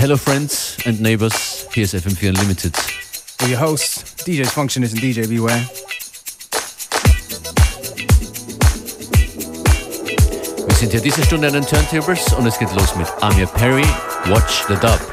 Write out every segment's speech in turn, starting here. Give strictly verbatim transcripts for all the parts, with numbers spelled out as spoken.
Hello friends and neighbors, hier ist F M vier Unlimited. With your hosts, D J Functionist and D J Beware. Wir sind hier diese Stunde an den Turntables und es geht los mit Amir Perry, Watch the Dub.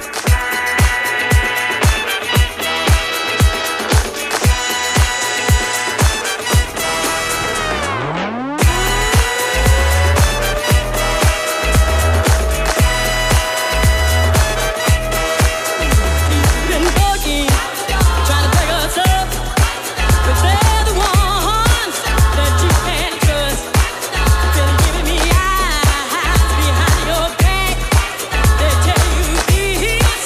Behind your back, they tell you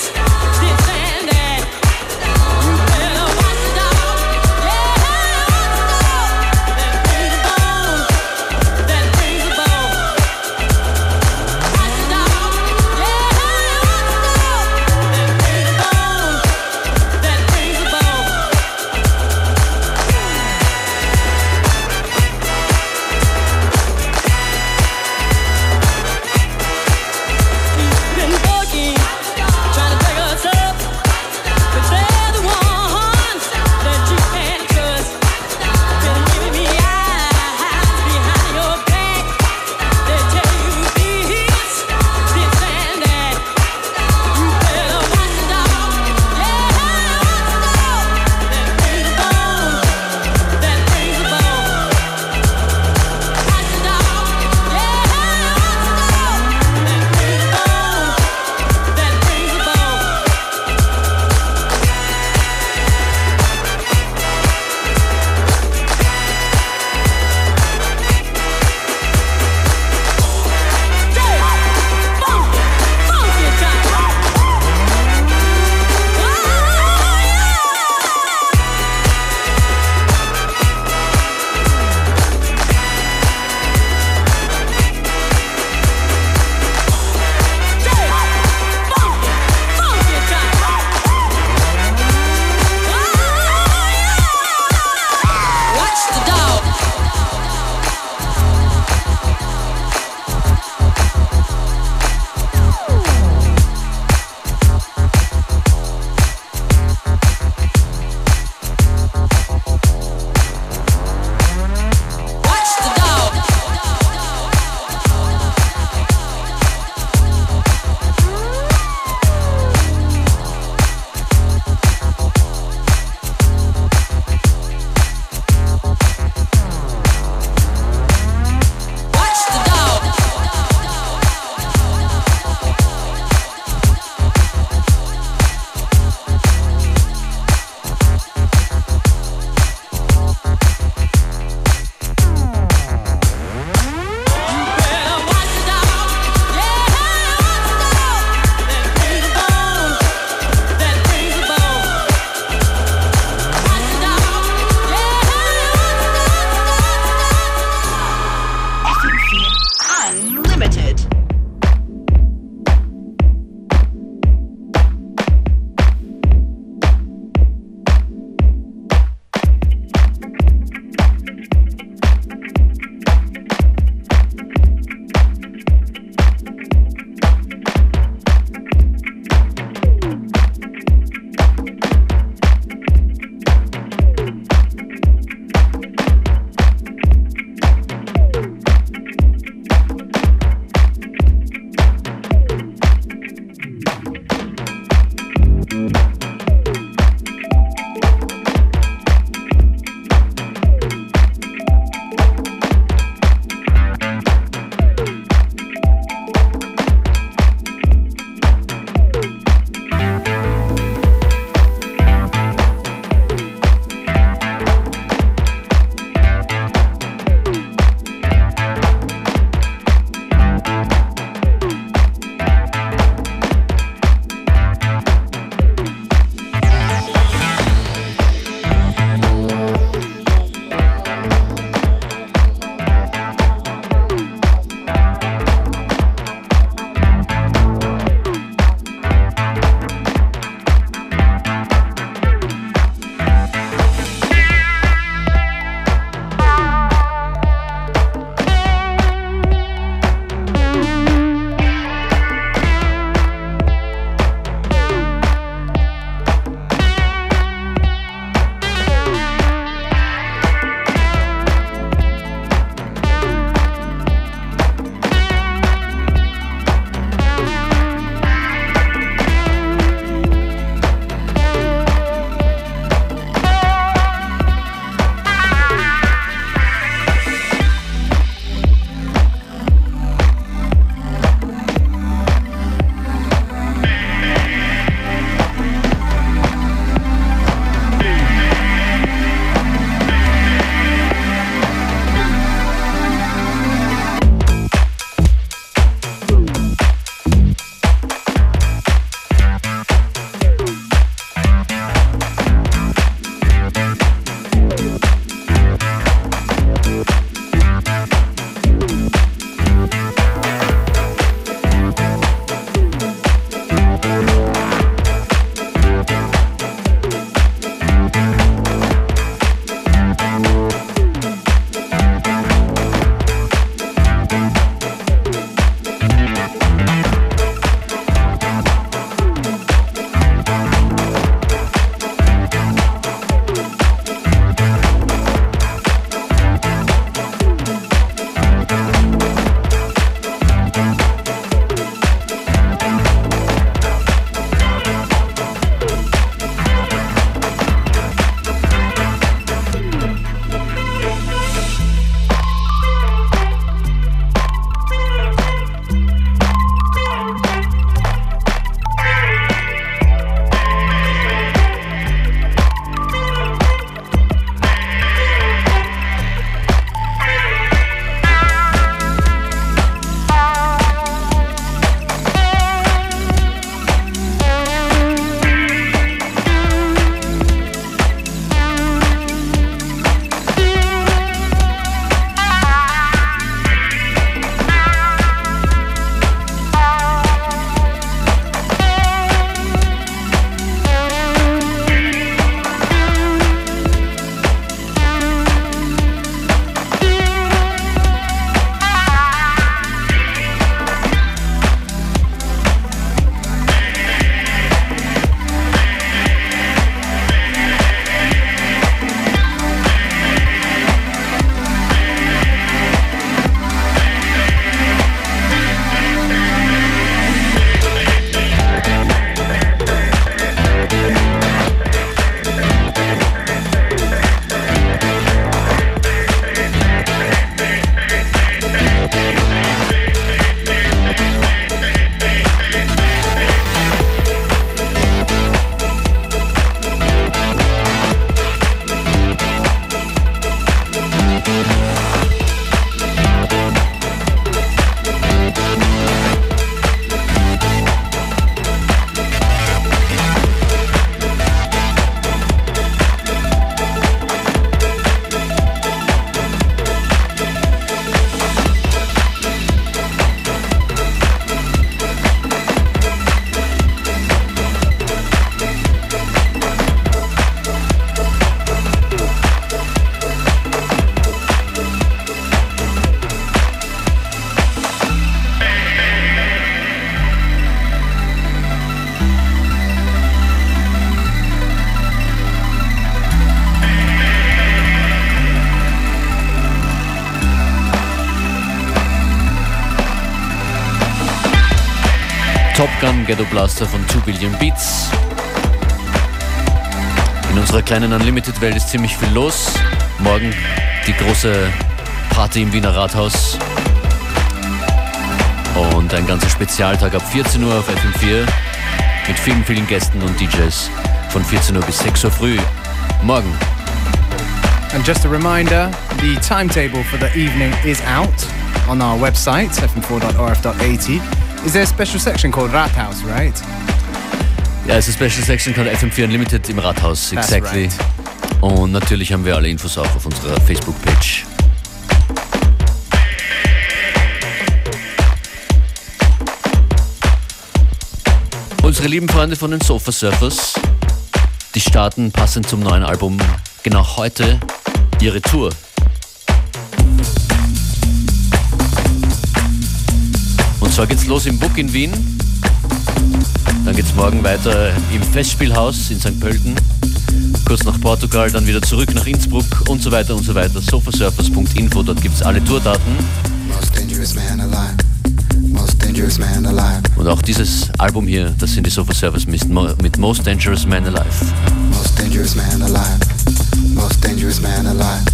Top Gun Ghetto Blaster von two billion Beats. In unserer kleinen Unlimited-Welt ist ziemlich viel los. Morgen die große Party im Wiener Rathaus. Und ein ganzer Spezialtag ab vierzehn Uhr auf F M vier mit vielen, vielen Gästen und D Js von vierzehn Uhr bis sechs Uhr früh. Morgen. And just a reminder, the timetable for the evening is out on our website, f m four dot o r f dot a t. Is there a special section called Rathaus, right? Ja, es ist eine Special Section called F M vier Unlimited im Rathaus, exactly. Right. Und natürlich haben wir alle Infos auch auf unserer Facebook-Page. Unsere lieben Freunde von den Sofa Surfers, die starten passend zum neuen Album genau heute ihre Tour. Und zwar geht's los im Buk in Wien. Dann geht's morgen weiter im Festspielhaus in Sankt Pölten. Kurz nach Portugal, dann wieder zurück nach Innsbruck und so weiter und so weiter. sofasurfers punkt info, dort gibt's alle Tourdaten. Most dangerous man alive. Most dangerous man alive. Und auch dieses Album hier, das sind die Sofa Surfers mit, mit Most Dangerous Man Alive. Most dangerous man alive. Most dangerous man alive.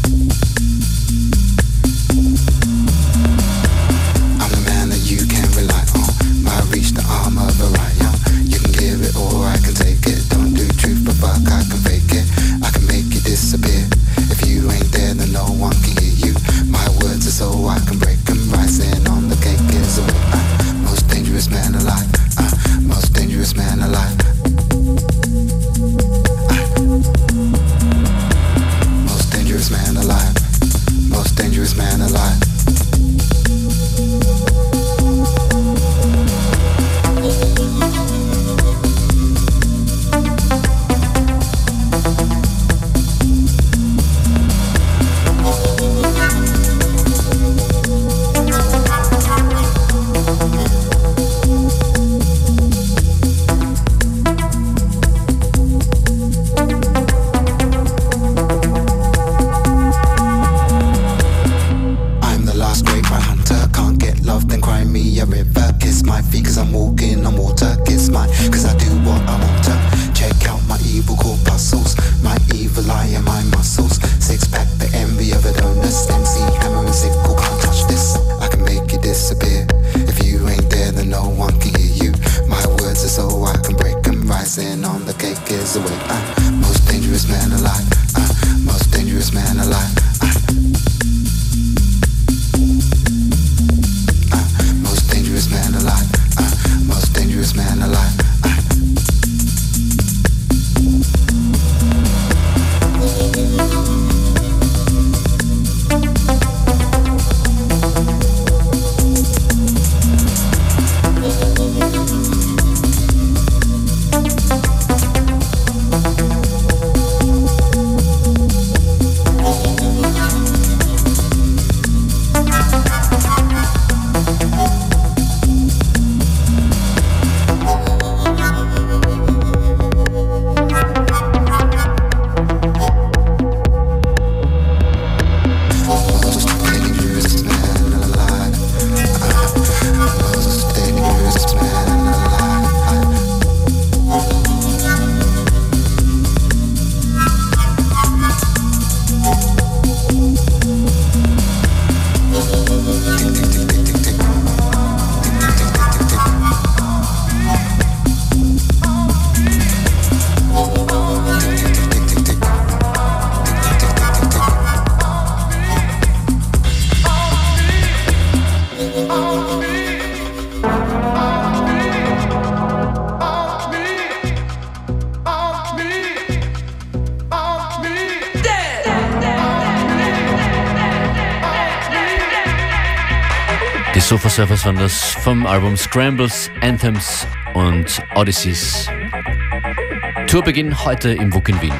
I'm the man that you can rely on. I reach the arm of a riot. You can give it or I can take it. Don't do truth but fuck, I can fake it. I can make it disappear. If you ain't there then no one can hear you. My words are so I can break them. Rising on the cake is a way. uh, Most dangerous man alive. uh, Most dangerous man alive. uh, Most dangerous man alive. Most dangerous man alive. Sofa Surfers waren das vom Album Scrambles, Anthems und Odysseys. Tourbeginn heute im Buk in Wien.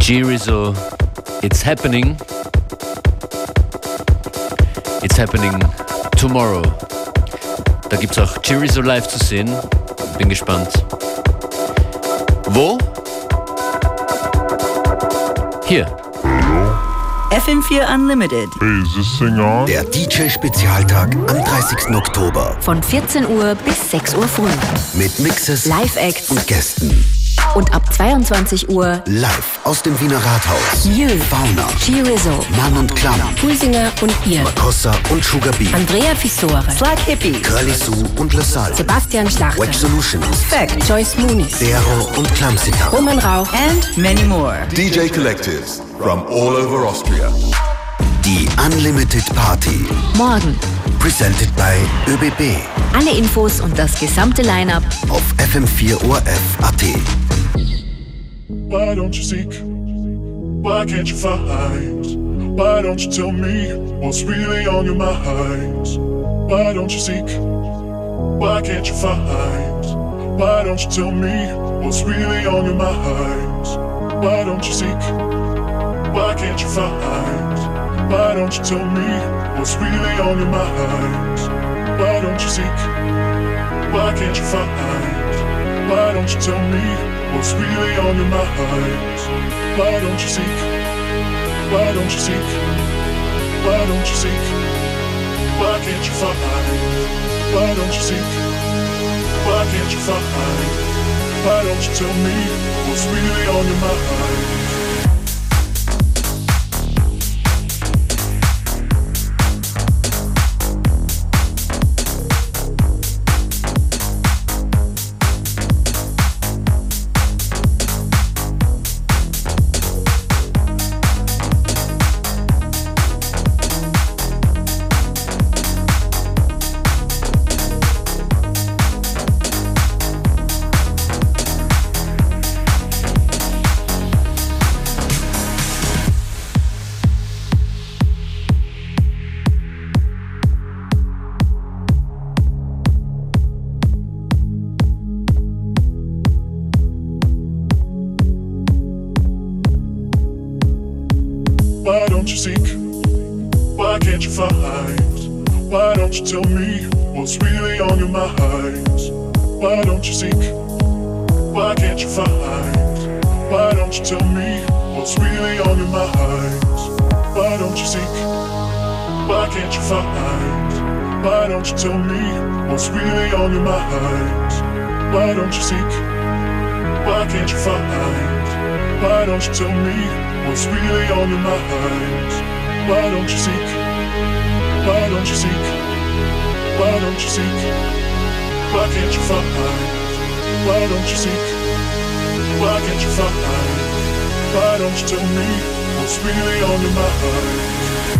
G-Rizzo, It's Happening. It's Happening Tomorrow. Da gibt es auch G-Rizzo live zu sehen. Bin gespannt. Wo? Hier. F M vier Unlimited. Hey, is this thing on? Der D J-Spezialtag am dreißigsten Oktober. Von vierzehn Uhr bis sechs Uhr früh. Mit Mixes, Live-Acts und Gästen. Und ab zweiundzwanzig Uhr live aus dem Wiener Rathaus. You, Fauna, G-Rizzo, Mann und Klamm, Pulsinger und ihr, Makossa und Sugar Bee, Andrea Fissore, Slack Hippie, Curly Sue und LaSalle, Sebastian Schlachter, Wedge Solutions, Fact, Joyce Muniz, Dero und Klamsitter, Roman Rauch and many more. D J collectives from all over Austria. Die Unlimited Party. Morgen. Presented by ÖBB. Alle Infos und das gesamte Line-Up auf F M vier O R F Punkt A T. Why don't you seek? Why can't you find? Why don't you tell me what's really on your mind? Why don't you seek? Why can't you find? Why don't you tell me what's really on your mind? Why don't you seek? Why can't you find? Why don't you tell me what's really on your mind? Why don't you seek? Why can't you find? Why don't you tell me what's really on your mind? Why don't you seek? Why don't you seek? Why don't you seek? Why can't you find? Why don't you seek? Why can't you find? Why don't you tell me what's really on your mind? Why don't you seek? Why can't you find? Why don't you tell me what's really on your mind? Why don't you seek? Why can't you find? Why don't you tell me what's really on your mind? Why don't you seek? Why can't you find? Why don't you tell me what's really on your mind? Why don't you seek? Why can't you find? Why don't you tell me what's really on your mind? Why don't you seek? Why don't you seek? Why don't you seek? Why can't you find? Why don't you seek? Why can't you find? Why don't you tell me what's really on your mind?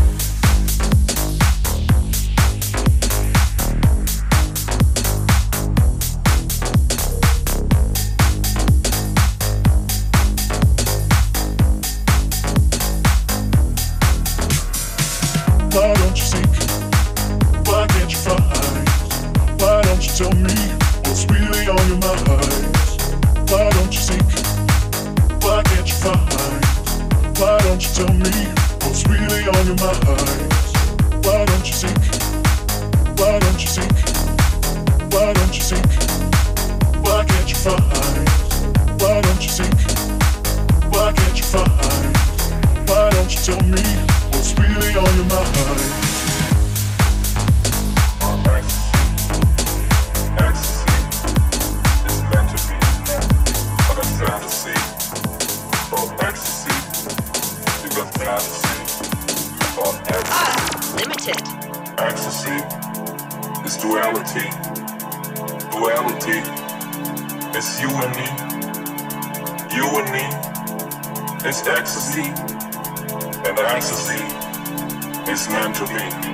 Why don't you seek? Why can't you find? Why don't you tell me what's really on your mind? Why don't you seek? Why can't you find? Why don't you tell me what's really on your mind? Why don't you seek? Why don't you seek? Why don't you seek? Why can't you find? Why don't you seek? Why can't you find? Why don't you tell me what's really on your mind? Limited. Ecstasy is duality. Duality is you and me. You and me is ecstasy. And ecstasy is meant to be.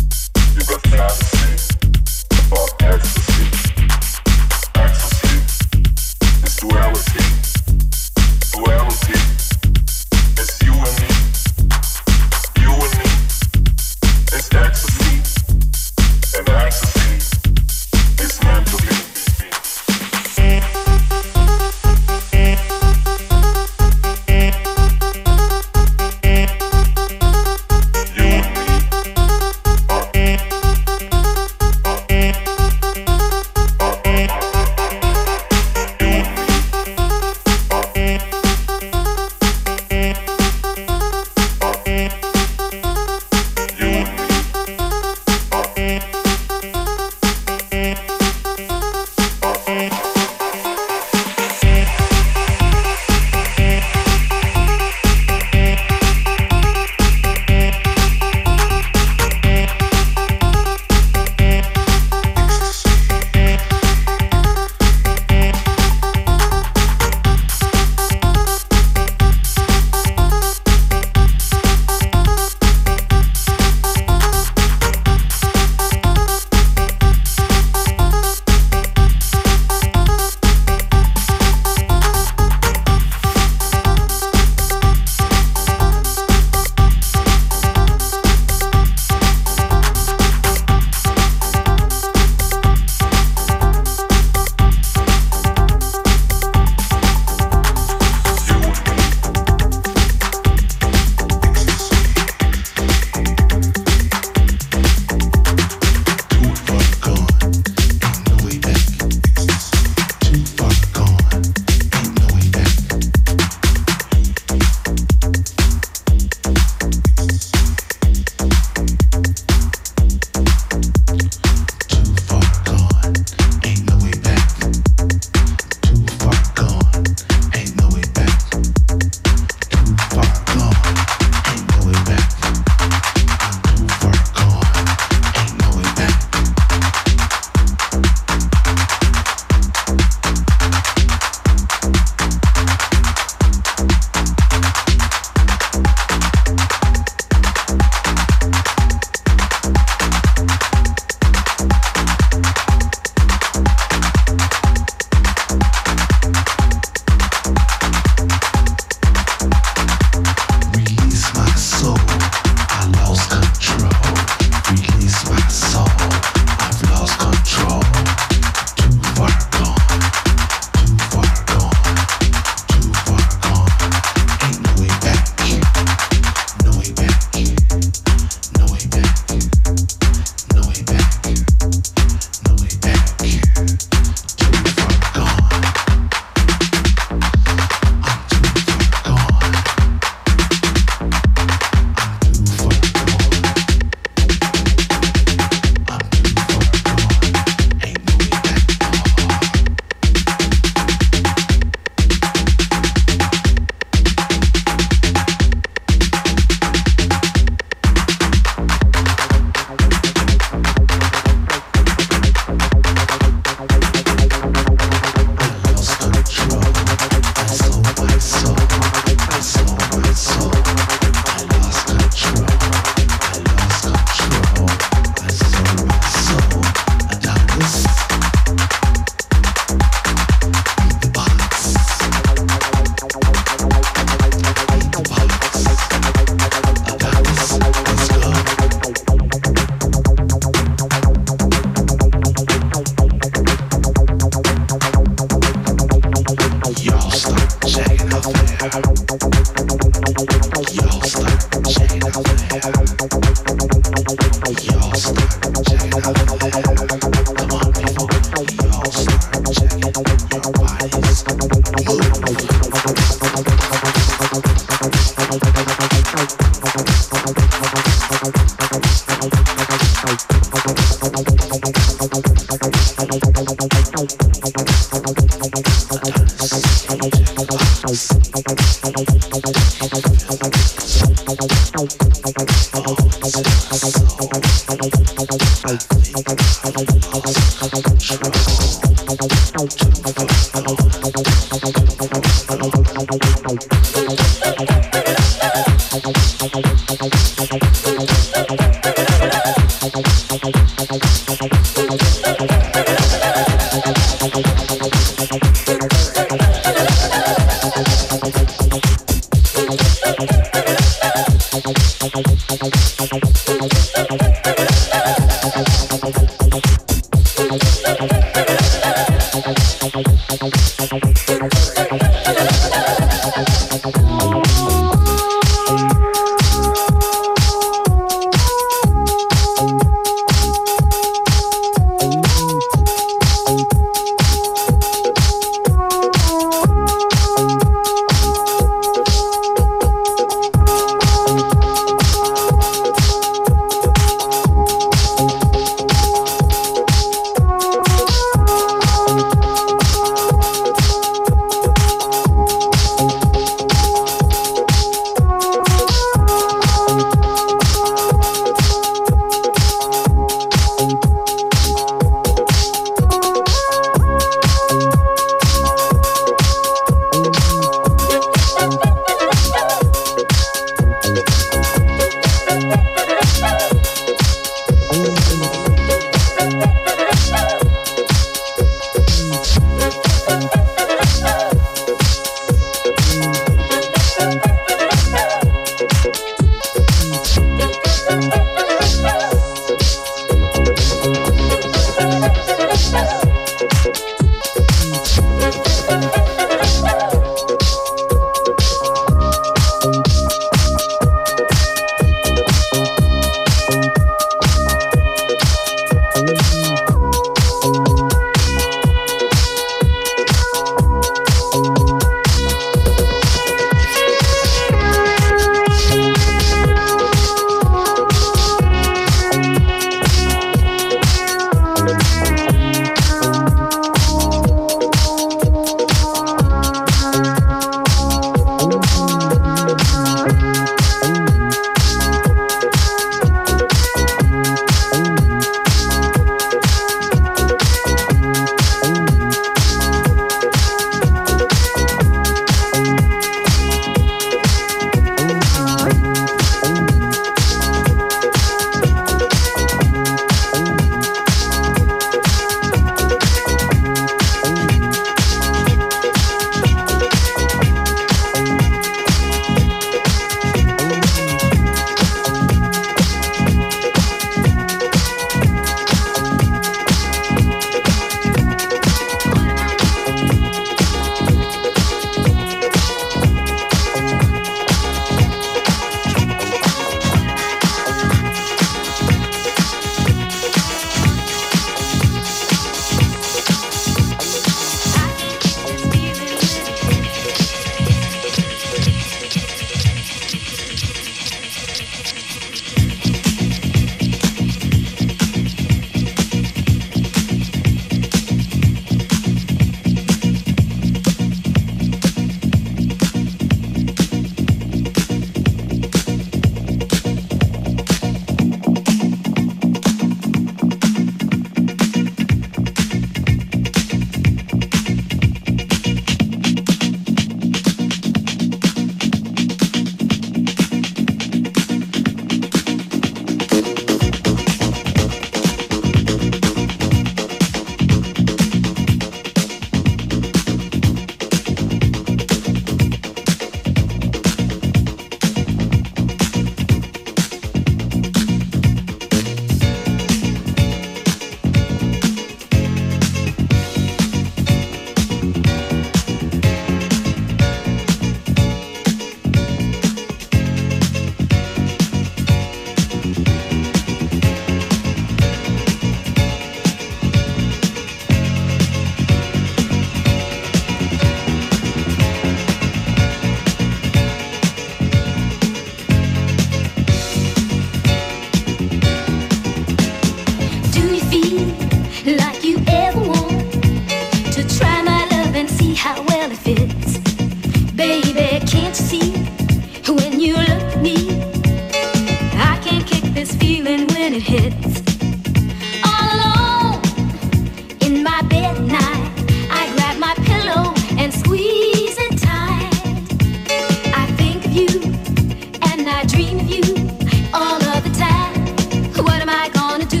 like you ever want to try my love and see how well it fits. Baby, can't you see when you look at me? I can't kick this feeling when it hits. All alone in my bed at night, I grab my pillow and squeeze it tight. I think of you and I dream of you all of the time. What am I gonna do?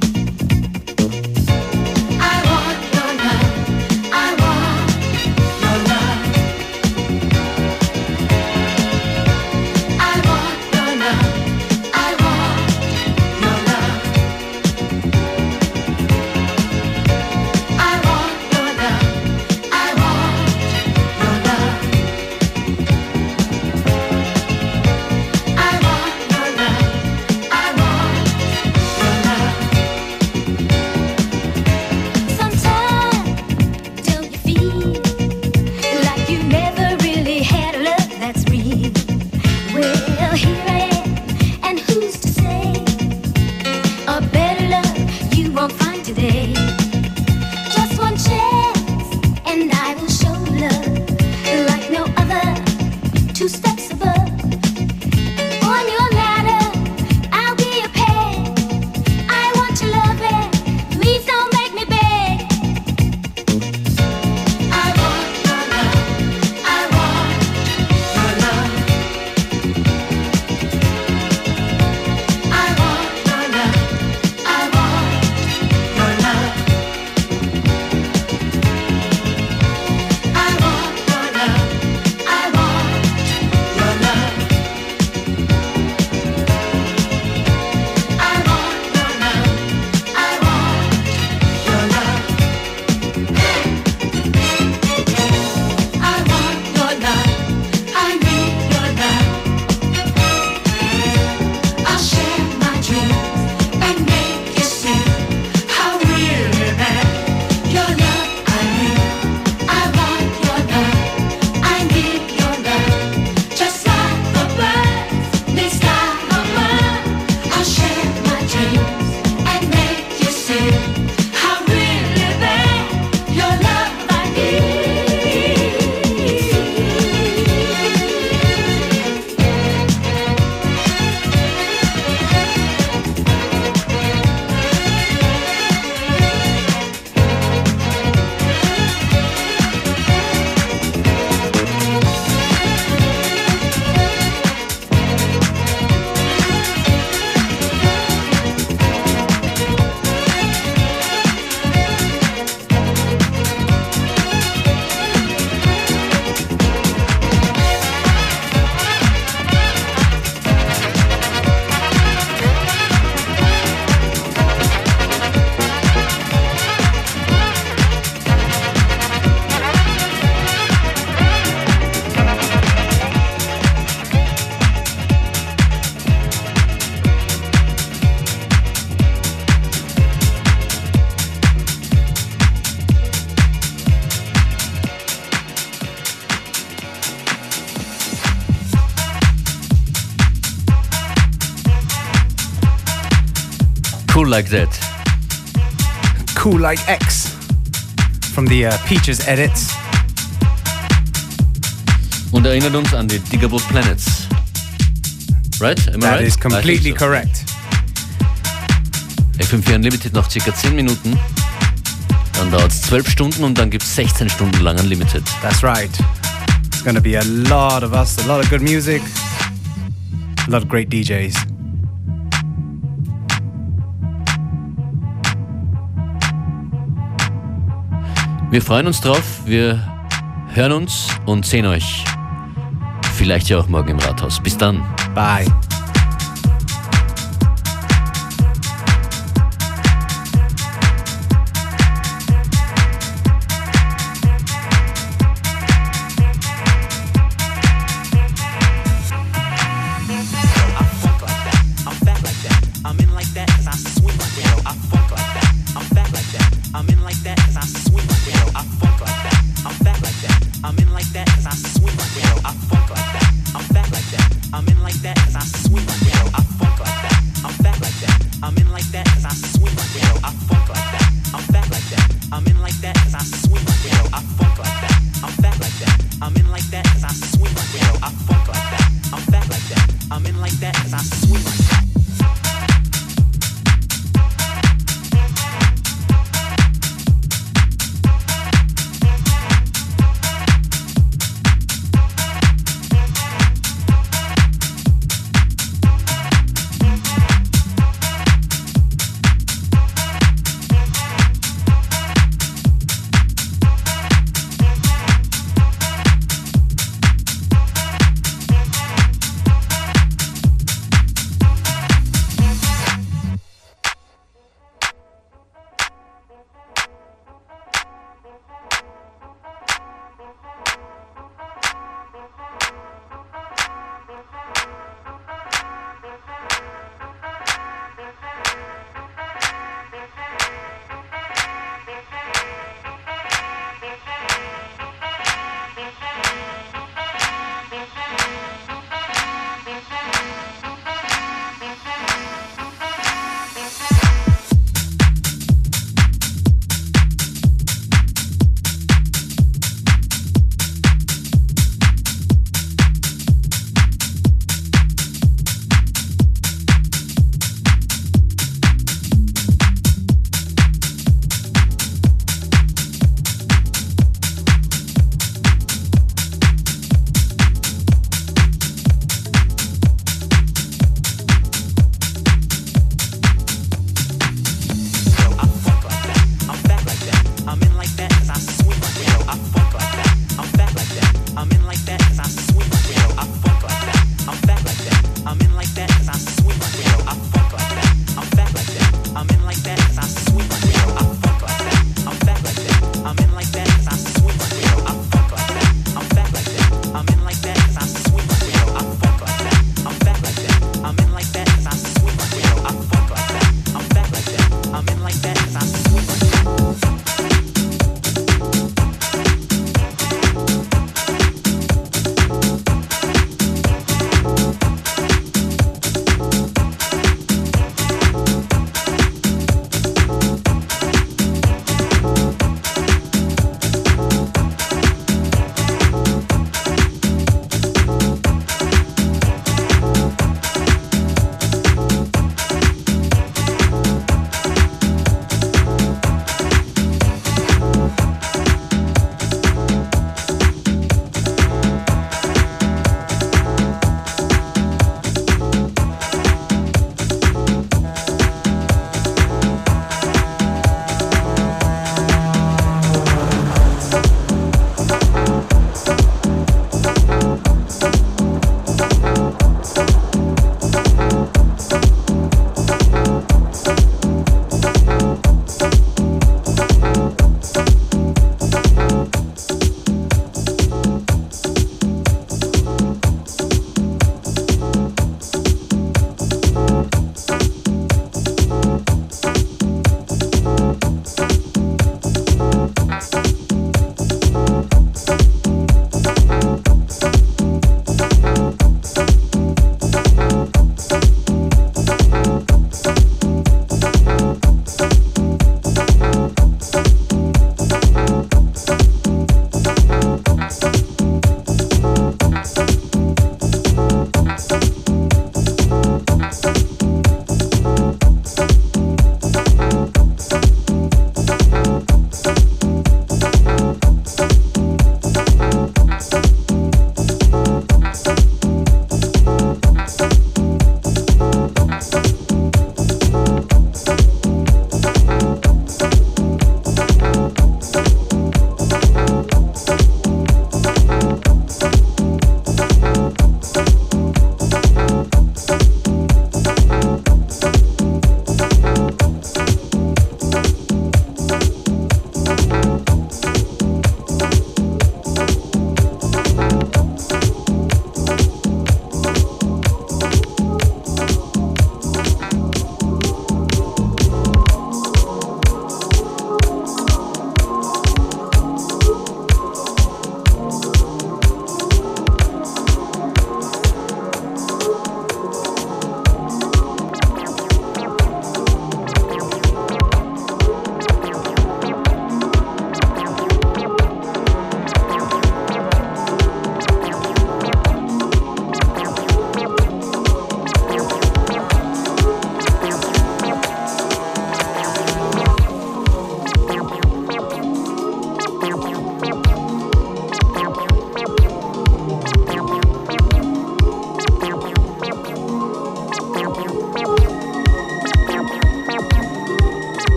I want your love. I want your love. I want your love. I want your love. I want your love. I want your love. I want your love. I want your love. Sometimes don't you feel like you never really had a love that's real? Well, here I am, and who's to say a better love you won't find today? Just one chance, and I will show love like no other. Two steps above. On your ladder, I'll be your pet. I want your love, and please don't make me beg. I want your love. I want your love. I want your love. I want your love. I want your love. I want your love. I want your love. I want your love. I want your love. I need your love. I'll share my dreams and make you see how really bad your love I need. I want your love. I need your love. Just like the birds, they sky above. I'll share my dreams and make you see how really bad your love I need. Cool Like That. Cool Like X from the uh, Peaches edits. Und erinnert uns an die Digable Planets. Right? Am I That right? is completely I think so. correct. F M vier Unlimited noch circa zehn Minuten. Dann dauert es zwölf Stunden und dann gibt es sechzehn Stunden lang Unlimited. That's right. It's going to be a lot of us, a lot of good music, a lot of great D Js. Wir freuen uns drauf, wir hören uns und sehen euch. Vielleicht ja auch morgen im Rathaus. Bis dann. Bye. I'm in like that, 'cause I swing like that. I funk like that. I'm fat like that. I'm in like that.